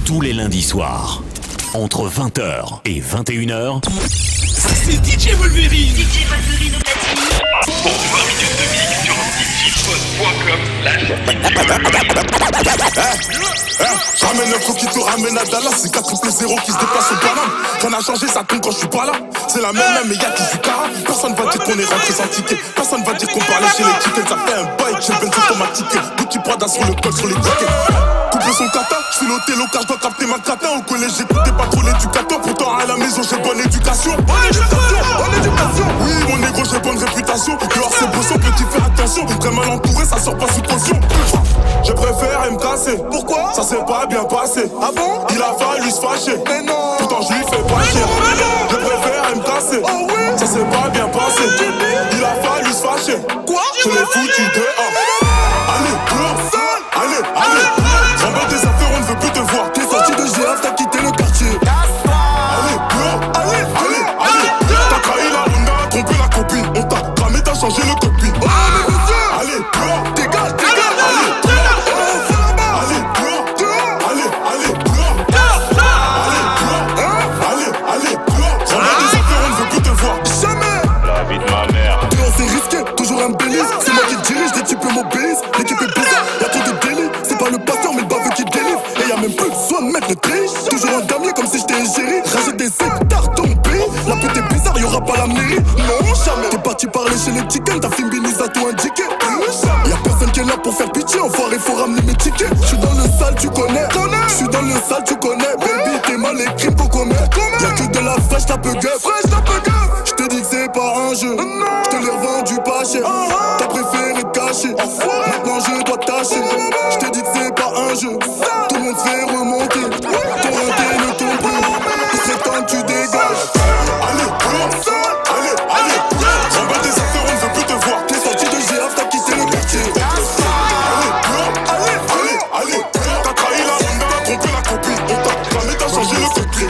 tous les lundis soirs. Entre 20h et 21h, ça c'est DJ Wolverine. DJ Wolverine au platine. Pour 20 minutes de mix sur Ramène un faux qui te ramène à Dallas. C'est 4 0 qui se déplacent au Paname. Rien n'a changé, ça tombe quand je suis pas là. C'est la même, mais y'a qui du cara. Personne va dire qu'on est rentré sans ticket. Personne va dire qu'on parlait chez les tickets. Ça fait un bail, j'ai le Benz automatique. Gucci Prada sur le col, sur les tickets. Couper son kata, j'suis l'hôtel au car j'dois capter ma cata. Au collège j'écoutais pas trop l'éducateur. Pourtant à la maison j'ai bonne éducation. Bonne éducation. Oui mon négro j'ai bonne réputation. Dehors c'est beau, petit fais attention. Très mal entouré, ça sort pas sous caution. Je préfère me casser. Pourquoi? Ça s'est pas bien passé. Ah bon? Il a fallu se fâcher. Mais non. Pourtant je lui fais pas cher. Je préfère me casser. Oh oui. Ça s'est pas bien passé. Il a fallu se fâcher. Quoi? Je l'ai foutu dehors. Allez, dehors. Allez. Remballe tes affaires, on ne veut plus te voir. T'es sorti de GF, t'as quitté le quartier. Allez, dehors. Allez. T'as trahi la Honda, trompé la copine. On t'a cramé, t'as changé le cockpit. Oh mais monsieur. Allez, dehors. Dégage. C'est moi qui dirige, les types m'obéissent. L'équipe est bizarre, y'a trop de délits. C'est pas le pasteur mais le baveux qui délivre. Et y'a même plus besoin de mettre le triche. Toujours un damier comme si j'étais égérie. Rajoute des hectares dans mon pays. La pute est bizarre, y'aura pas la mairie. Non, jamais. T'es parti parler chez les chickens, ta Fimbinise a tout indiqué. Y'a personne qui est là pour faire pitié. Enfoiré, faut ramener mes tickets. J'suis dans le sale, tu connais. J'suis dans le sale, tu connais. Baby, t'es mal les crimes qu'on commet. Y'a que de la fraîche, ta peu gueule. J'te dis que c'est pas un jeu. J'te l'ai revendu pas cher. T'as préféré te cacher. Maintenant je dois tâcher. J'te dis que c'est pas un jeu. Tout le monde fait remonter. Ton raté ne tombe plus. Il serait temps que tu dégages. Allez. Remballe tes affaires, on ne veut plus te voir. T'es sorti de GF, t'as quitté le quartier. Allez. T'as trahi la Honda, t'as trompé la copine. On t'a cramé, t'as changé le cockpit.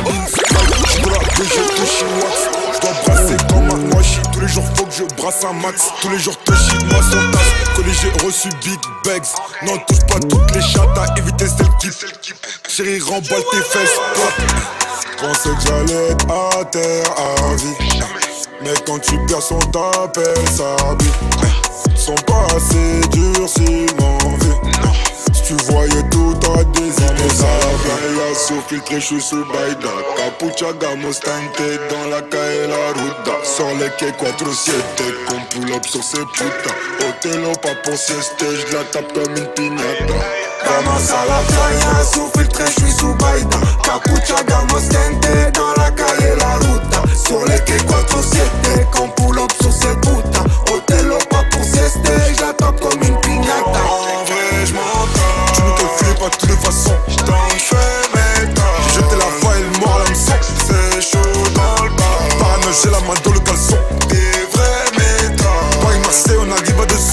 J'dois brasser comme un washi. Tous les jours faut que je brasse un max. Tous les jours te chie moi son tasse. Collé j'ai reçu big bags. Non touche pas toutes les chattes. À éviter celle qui chérie remballe tes fesses. Pensais que j'allais être à terre à vie. Mais quand tu perds son t'appelles ça vie. Sont pas assez durs sinon vie. Si tu voyais tout à des années ça va. Sous filtré, j'suis sous Baïda. Capucha, gamos, teinté dans la calle la ruta. Sur les quais 4-7, qu'on pull up sur ces putains. Otelo, pas pour sieste, j'la tape comme une piñata. Vamos à la playa, sous filtré, j'suis sous Baïda. Capucha, gamos, teinté dans la calle la ruta. Sur les quais 4-7, qu'on pull up sur ces putains. Otelo, pas pour sieste, j'la tape comme une piñata. En vrai, j'm'entends. Tu me calcules pas de toutes les façons. J'ai jeté la voix et le mort à l'hameçon. C'est chaud dans le bar. Parano, j'ai la main dans le caleçon. Des vrais méthodes. Paris-Marseille, on arrive à 200.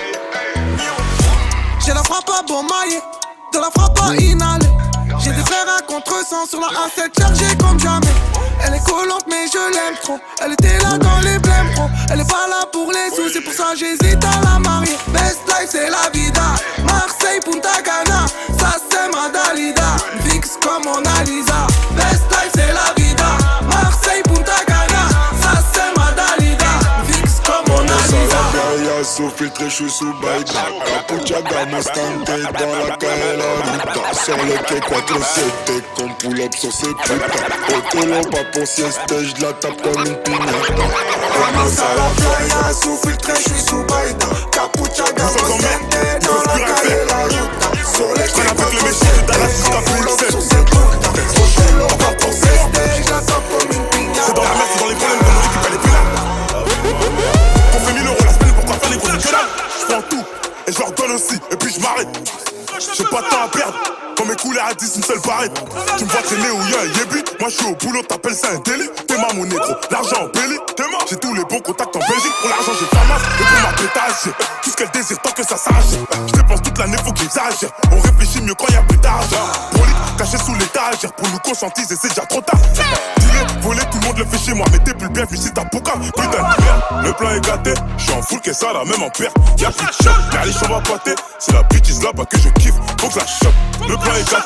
J'ai la frappe à bon maillet, de la frappe à inhaler. J'ai des frères à contre-sens sur la A7 chargée comme jamais. Elle est collante mais je l'aime trop. Elle était là dans les blèmes pro. Elle est pas là pour les sous, c'est pour ça j'hésite à la marier. Best life c'est la vida. Marseille, Punta Cana, ça sème Dalida. Fix comme Mona Lisa. Best life c'est la vida. Marseille, Punta Cana, ça sème Dalida. Fix comme Mona Lisa. Sous filtré, j'suis sous Baïda. Capucha, gamos, teinté dans la calle la ruta. Sur le quai 4-7, qu'on pull up sur ces putains. Otelo, pas pour sieste, j'la tape comme une piñata. Vamos à la playa, sous filtré, j'suis sous Baïda. Capucha, gamos, teinté dans la calle la ruta. Sur les quais 4-7, qu'on pull up sur ces putains. Otelo, pas pour sieste, j'la tape comme une piñata. C'est dans la merde, c'est dans les problèmes, comme on dit qu'il fallait plus là. On fait 1000 € la semaine, pourquoi faire les gros que dalle? J'prends tout, et je leur donne aussi, et puis je m'arrête. J'ai pas de temps à perdre, quand mes couleurs à 10, une seule barrette. Tu me vois traîner où y'a un yébi, moi j'suis au boulot, t'appelles ça un délit. T'es ma mon négro, l'argent en belly, t'es mort. J'ai tous les bons contacts en Belgique, pour l'argent j'ai pas masse, et pour ma pétage, j'ai tout ce qu'elle désire tant que ça s'arrache. J'dépense toute l'année, faut que j'exagère, on réfléchit mieux quand y'a plus d'argent. Brolique, caché sous l'étagère, pour nous conscientiser c'est déjà trop tard. Tirer, voler, tout le monde le fait chez moi, mais t'es plus bienvenu si t'as Poca. Putain de merde, le plan est gâté, j'suis en full que ça là, même en perte. Y'a plus de choc, car les chambres à pâter, c'est la bitch là-bas que je kiffe, faut que je la chope. Le plan est gâté,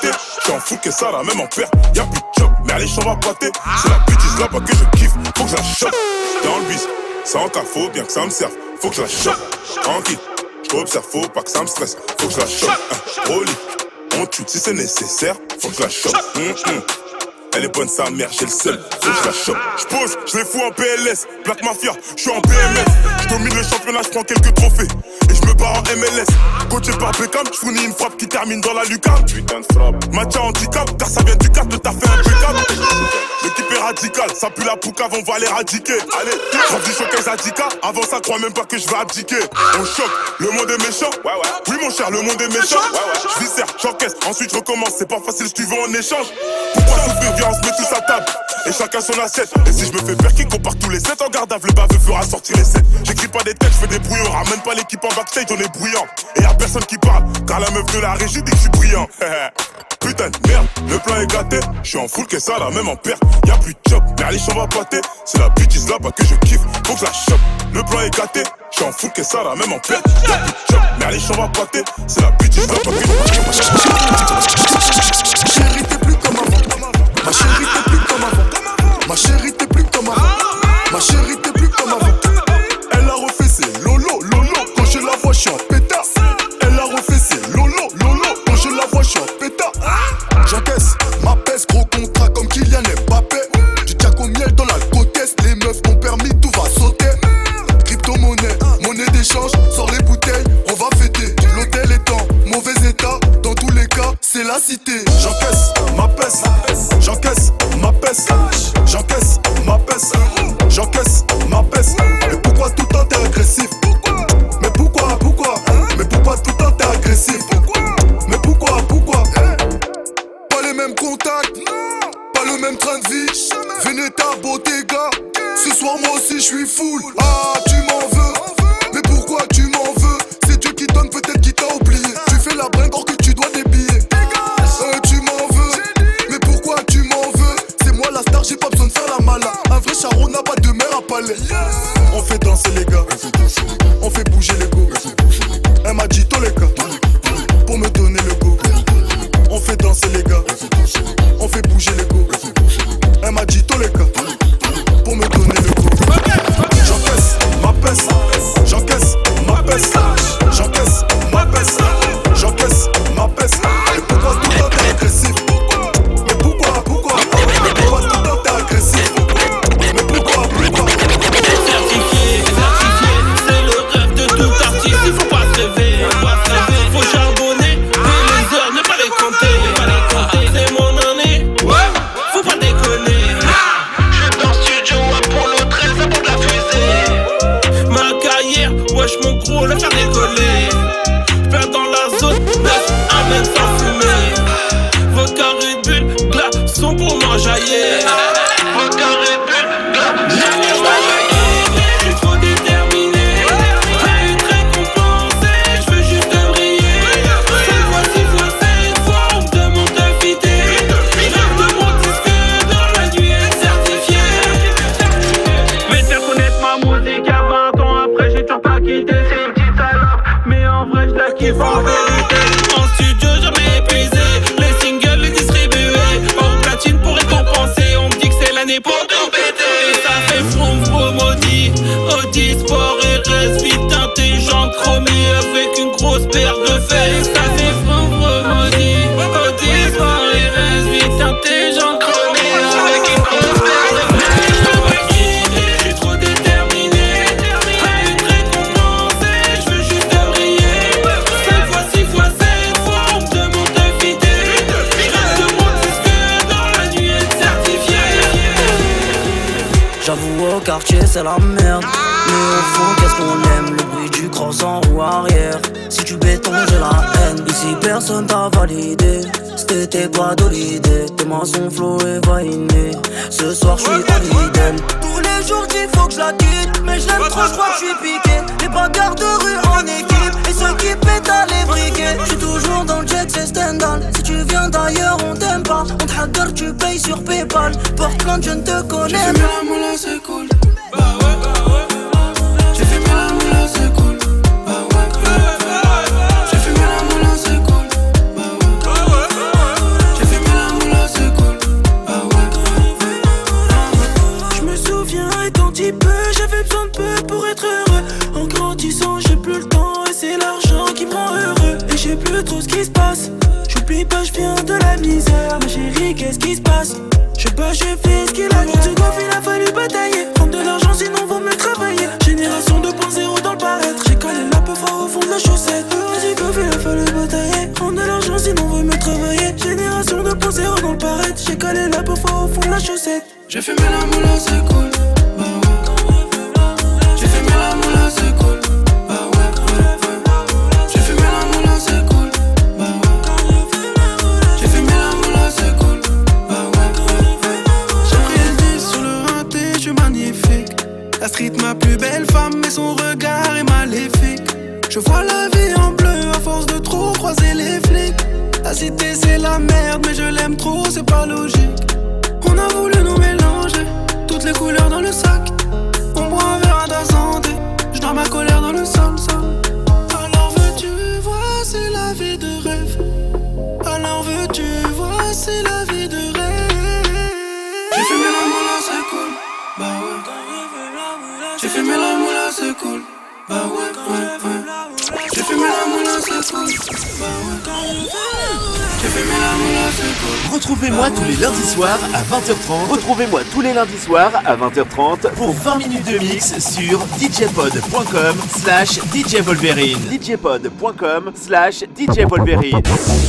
J'suis en full que ça là, même en père. Y'a plus de job, mais allez, j'en va pâter. C'est la bêtise là-bas que je kiffe. Faut que je la chope. Dans le bis, ça en cas, faut bien que ça me serve. Faut que je la chope. Tranquille, j'observe, faut pas que ça me stresse. Faut que je la chope. Au lit, on tue si c'est nécessaire. Faut que je la chope. Elle est bonne sa mère, j'ai le seul, faut que je la chope. J'pose, j'les fous en PLS, Black Mafia, j'suis en BMS. J'domine le championnat, j'prends quelques trophées. Et j'me barre en MLS. Coaché par Beckham, j'fournis une frappe qui termine dans la lucarne. Putain de frappe. Match à handicap, car ça vient du cadre, le taf fait impeccable. L'équipe est radicale, ça pue la poucave, on va l'éradiquer. Allez, j'rends du showcase à 10K, avant ça croit même pas que je vais abdiquer. On choque, le monde est méchant. Oui mon cher, le monde est méchant. J'viscère, j'encaisse, ensuite je recommence. C'est pas facile si tu veux en échange. Pourquoi souffrir? Viens, on se met tous à table. Et chacun son assiette. Et si je me fais perquer, qu'on part tous les 7 en garde à vue, le baveux fera sortir les 7. J'écris pas des têtes, je fais des brouillons. Ramène pas l'équipe en backstage, on est bruyant. Et y'a personne qui parle, car la meuf de la régie dit que je suis brillant. Putain de merde, le plan est gâté. J'suis en full que ça là, même en perte. Y'a plus de job, mais allez, j'en va pâter. C'est la bêtise là-bas que je kiffe. Faut que je la chope. Le plan est gâté. J'suis en full que ça là, même en perte. Y'a plus de job, mais allez, j'en va pâter. C'est la bêtise là-bas que je kiffe. Chérie, t'es plus comme avant. Ma chérie, t'es plus comme avant. Ma chérie, t'es plus comme avant. Ma chérie, t'es plus comme avant. Elle a refait ses lolo, lolo. Quand je la vois, j'suis en pétard. Elle a refait ses lolo, lolo. Quand je la vois, j'suis en pétard. J'encaisse ma peste, gros contrat comme Kylian Mbappé. Du jack au miel dans la côtesse. Les meufs m'ont permis, tout va sauter. Crypto-monnaie, monnaie d'échange. Sors les bouteilles, on va fêter. L'hôtel est en mauvais état. Dans tous les cas, c'est la cité. J'encaisse ma peste. J'encaisse ma peste. J'encaisse ma peste. J'encaisse ma peste. Mais pourquoi tout le temps t'es agressif? Mais pourquoi? Mais pourquoi tout le temps t'es agressif? Mais pourquoi? Pas les mêmes contacts, pas le même train de vie. Veneta, Bottega. Ce soir moi aussi je suis full. Ah tu m'en veux? Mais pourquoi tu m'en veux? C'est Dieu qui donne, peut-être qui t'a oublié. Tu fais la bringue or que tu dois des billets. Tu m'en veux? Mais pourquoi tu m'en veux? C'est moi la star, j'ai pas besoin de faire la mala. Un vrai charron n'a pas de mère à palais. On fait danser les gars, on fait bouger les go. Elle m'a dit Toleka pour me donner le go. On fait danser les gars, on fait bouger les go. Elle m'a dit Toleka pour me donner le go. J'encaisse ma peste, j'encaisse ma peste, j'encaisse ma peste, j'encaisse ma peste. Et pourquoi tout le temps t'es agressif? Mais pourquoi? Pourquoi tout le temps t'es agressif? Mais pourquoi? Certifié, c'est le rêve de tout artiste. Il faut pas se rêver, faut charbonner. Et les heures, ne pas les compter. C'est mon année, faut pas déconner. J'suis dans le studio, Apollo 13, avant de la fusée. Ma carrière, wesh mon gros, la faire décoller. J'perds dans la zone, 9, amène sans fumer. Vodka Red Bull, glaçons pour m'enjailler. Vodka Red Bull, glaçons. J'suis trop déterminé, très compensé. J'veux juste briller. 5 fois, 6 fois, 7 fois, on me demande de fitter. J'rêve de mon disque dans la nuit est certifié. Mais faire connaître ma musique à 20 ans après, j'ai toujours pas quitté. C'est une petite salope, mais en vrai j'la kiffe en vérité. En studio jamais épuisé, les singles les distribués. Hors platine pour récompenser, on me dit que c'est l'année pour tout péter. Et ça fait froum froum Audi, Audi Sport et reste vite intelligent chromé avec une grosse paire de fesses. Ça fait froum froum Audi, Audi Sport et reste vite intelligent chromé avec une grosse paire de fesses. J'suis trop déterminé, très compensé. J'veux juste briller. 5 fois, 6 fois, 7 fois, on me demande de fitter. J'rêve de mon disque dans la nuit est certifié. J'avoue au quartier c'est la merde. Mais au fond qu'est-ce qu'on aime? Le bruit du cross en roue arrière. Si tu béton j'ai la haine. Ici personne t'a validé. C'était pas de l'idée. Tes mains sont flow et vainées. Ce soir j'suis en idem. Tous les jours dis faut que je la quitte. Mais je l'aime trop, j'crois que j'suis piqué. Les bagarres de rue en équipe. Et ceux qui pètent à les briquets. J'suis toujours dans le jet, c'est Stendhal. Si tu viens d'ailleurs on t'aime pas. On te hacker, tu payes sur Paypal. Porte plainte, je ne te connais. J'ai fait la moula, c'est cool. J'ai fait la moula, c'est cool. J'ai fait la moula, c'est cool. J'ai fait dis pas, je viens de la misère. Ma chérie, qu'est-ce qui se passe? Je sais pas, je fais ce qu'il a. Pour du golf, il a fallu batailler. Prendre de l'argent, sinon vaut mieux travailler. Génération 2.0 dans le paraître. J'ai collé la peu fort au fond de la chaussette. Pour du golf, il a fallu batailler. Prendre de l'argent, sinon vaut mieux travailler. Génération 2.0 dans le paraître. J'ai collé la peu fort au fond de la chaussette. J'ai fait mes la moula, c'est cool. Bah ouais. J'ai fait mes la moula, c'est cool. Bah ouais. J'ai fait mes la moula, c'est cool. Bah ouais. J'ai fait mes la moula, c'est cool. Bah ouais. J'ai pris le 10 sur le rinté, je suis magnifique. La street, ma plus belle femme, mais son regard est maléfique. Je vois la vie en bleu à force de trop croiser les flics. La cité c'est la merde, mais je l'aime trop, c'est pas logique. On a voulu nous mélanger, toutes les couleurs dans le sac. On boit un verre à ta santé, je noie ma colère dans le sol, Alors veux-tu voir, c'est la vie de rêve. Alors veux-tu voir, c'est la vie de rêve. J'ai fait mes la moula, c'est cool. Bah ouais. J'ai fait mes la moula, c'est cool. Bah ouais, ouais, ouais. J'ai fait mes la moula, c'est cool. Bah ouais. J'ai fait mes la moula, c'est cool. Retrouvez-moi tous les lundis soirs à 20h30. Retrouvez-moi tous les lundis soirs à 20h30 pour 20 minutes de mix sur djpod.com/djvolverine. djpod.com/djvolverine.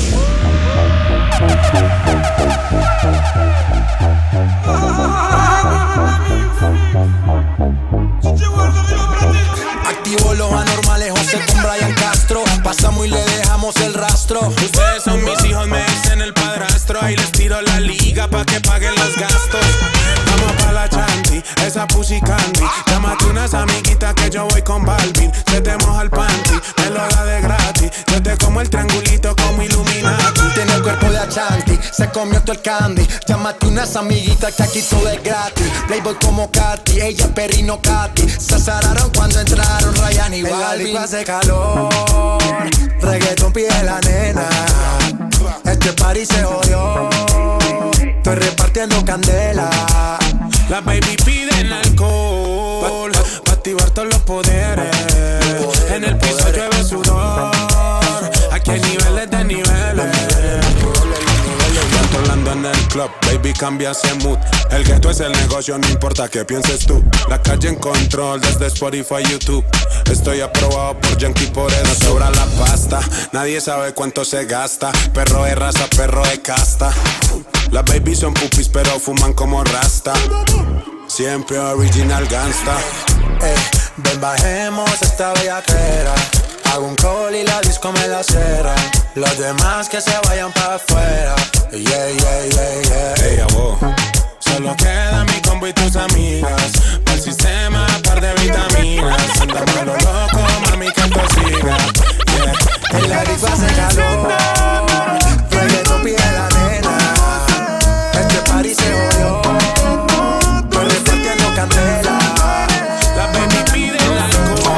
Activo los anormales, José con Brian Castro. Pasamos y le dejamos el rastro. Ustedes son mis hijos, me dicen el padrastro. Ahí les tiro la liga pa' que paguen los gastos. Vamos pa' la chanti, esa pussy candy. Llámate unas amiguitas que yo voy con Balvin. Se te moja el panty, me lo da de gratis. Yo te como el triangulito como Illuminati. Tiene el cuerpo de Achanti, se comió todo el candy. Llámate unas amiguitas que aquí todo es gratis. Playboy como Katy, ella Perrino Katy. Se azararon cuando entraron Ryan y Balvin. Hace calor, reggaeton pide la nena. Este party se jodió, estoy repartiendo candela. Las baby piden alcohol pa' activar todos los poderes. En el piso llueve sudor. Aquí hay niveles de niveles. Controlando en el club, baby cambia ese mood. El gueto es el negocio, no importa qué pienses tú. La calle en control desde Spotify, YouTube. Estoy aprobado por Yankee, por eso no sobra la pasta. Nadie sabe cuánto se gasta. Perro de raza, perro de casta. Las babies son pupis pero fuman como rasta. Siempre original gangsta. Ven bajemos esta bellaquera. Hago un call y la disco me la cierra. Los demás que se vayan pa' afuera. Yeah, yeah, yeah, yeah. Hey, abo. Solo queda mi combo y tus amigas. Para el sistema, par de vitaminas. Andamos a lo loco, mami, que esto siga. Yeah. En la disco hace calor. Reggaeton pide la nena. Este party se jodió. Estoy repartiendo candela. La baby pide el alcohol.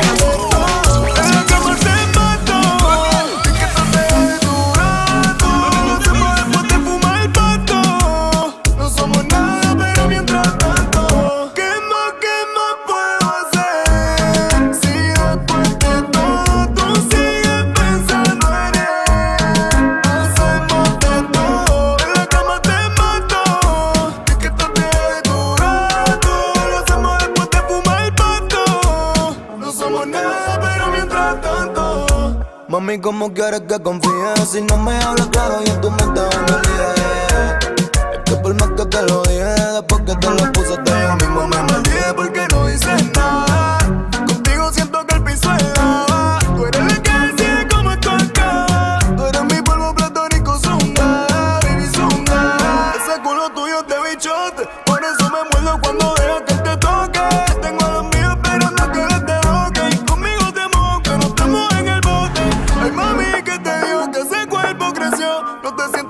Mami, ¿cómo quieres que confíe? Si no me hablas claro y en tu mente van a olvidar. Es que por más que te lo dije, después que te lo puse, te yo mismo me maldié porque no dices nada. Contigo siento que el piso es lava. Tú eres la que decide cómo esto acaba. Tú eres mi polvo platónico, zunga, baby zunga. Ese culo tuyo es de bichote, por eso me muerdo cuando dejas que te toque. Tengo a los míos esperando que les te boque. Y conmigo te mojo, que no estamos en el bote. Ay mami, que te digo que ese cuerpo creció. No te siento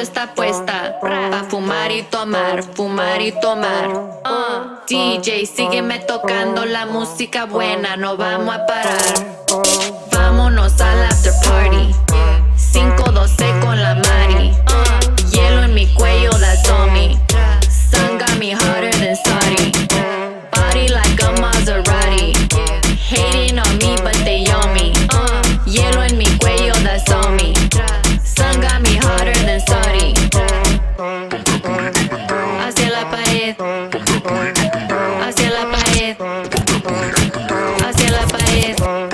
está puesta pa' fumar y tomar, fumar y tomar. DJ, sígueme tocando la música buena, no vamos a parar. Vámonos al after party, 5-12 con la Mari. Hielo en mi cuello, that's on me. Sun got me hotter than Saudi. Body like a Maserati. Hating on me, but they on me. Hielo en mi cuello, that's on me. Sun got me hotter than Saudi. Hacia la pared. Hacia la pared. Hacia la pared.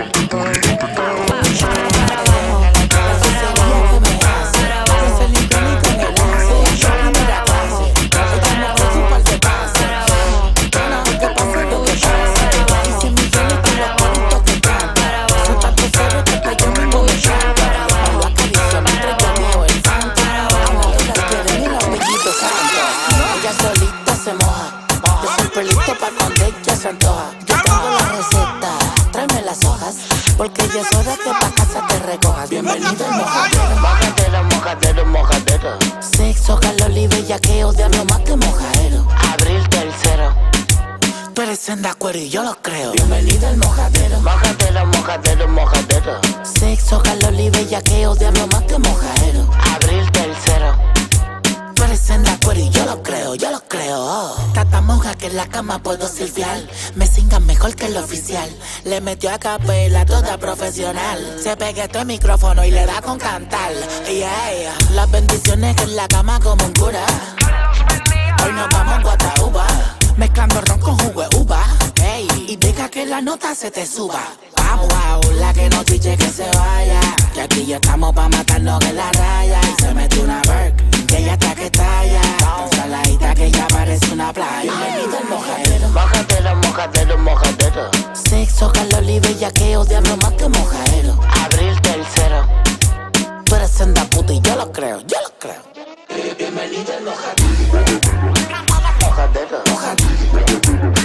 Porque ya es hora que pa' casa te recojas. Bienvenido al mojadero. Mojadero, mojadero, mojadero. Sexo, calor y bellaqueo, diablo más que mojadero. Abril tercero. Tú eres senda cuero y yo lo creo. Bienvenido al mojadero. Mojadero, mojadero, mojadero. Sexo, calor y bellaqueo, diablo más que mojadero. Abril tercero. Tú eres senda cuero y yo lo creo, yo lo creo. Tata monja que en la cama puedo silfiar. Me singan mejor que el oficial. Le metió a capela toda profesional. Se pega este micrófono y le da con cantar. Yeah, las bendiciones en la cama como un cura. Hoy nos vamos a Guataúba, mezclando ron con jugo de uva. Hey, y deja que la nota se te suba. Wow, wow, la que no chiche que se vaya. Que aquí ya estamos pa' matarnos en la raya. Y se mete una Burke, que ella está que talla. Saladita que ya parece una playa. Bienvenido al mojadero. Mojadero, mojadero, mojadero. Sexo, calor y bellaqueo, diablo más que mojadero. Abril tercero. Tú eres senda puta y yo lo creo, yo lo creo. Bienvenido al mojadero. Mojadero. Mojadero.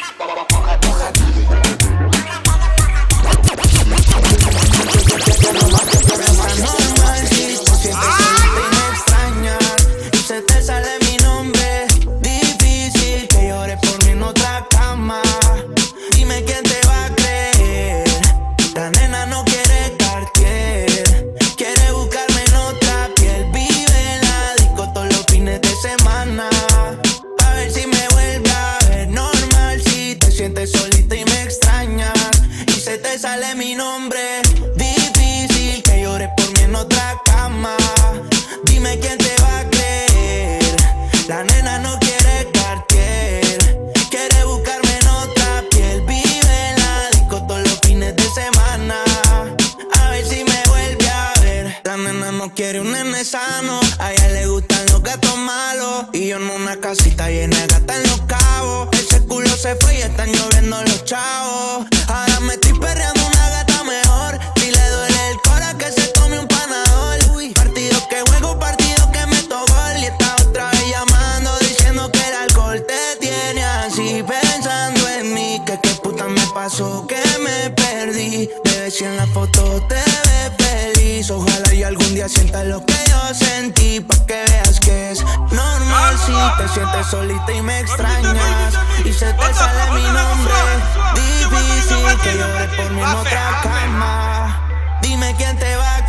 Se te sale mi nombre, difícil que llores por mí en otra cama. Dime quién te va a creer. La nena no quiere Cartier, quiere buscarme en otra piel. Vive en la disco todos los fines de semana. A ver si me vuelve a ver normal. Si te sientes solita y me extrañas y se te sale mi nombre, difícil que llores por mí en otra cama. Dime quién te va a creer. La nena no quiere Cartier, quiere buscarme en otra piel. Vive en la disco todos los fines de semana. A ver si me vuelve a ver. La nena no quiere un nene sano, a ella le gustan los gatos malos. Y yo en una casita llena de gatas en Los Cabos. Ese culo se fue y están lloviendo los chavos. Ahora me estoy perreando una gata mejor. Si le duele el cora que se tome un panador. Partido que juego, partido que meto gol. Y está otra vez llamando diciendo que el alcohol te tiene así. Pensando en mí, que qué puta me pasó, que me perdí. Bebé, si en la foto te ves feliz. Ojalá y algún día sientas lo que yo sentí, pa' que veas que es normal si te sientes solita y me extrañas y se te sale mi nombre. Difícil que llores por mí en otra cama. Dime quién te va a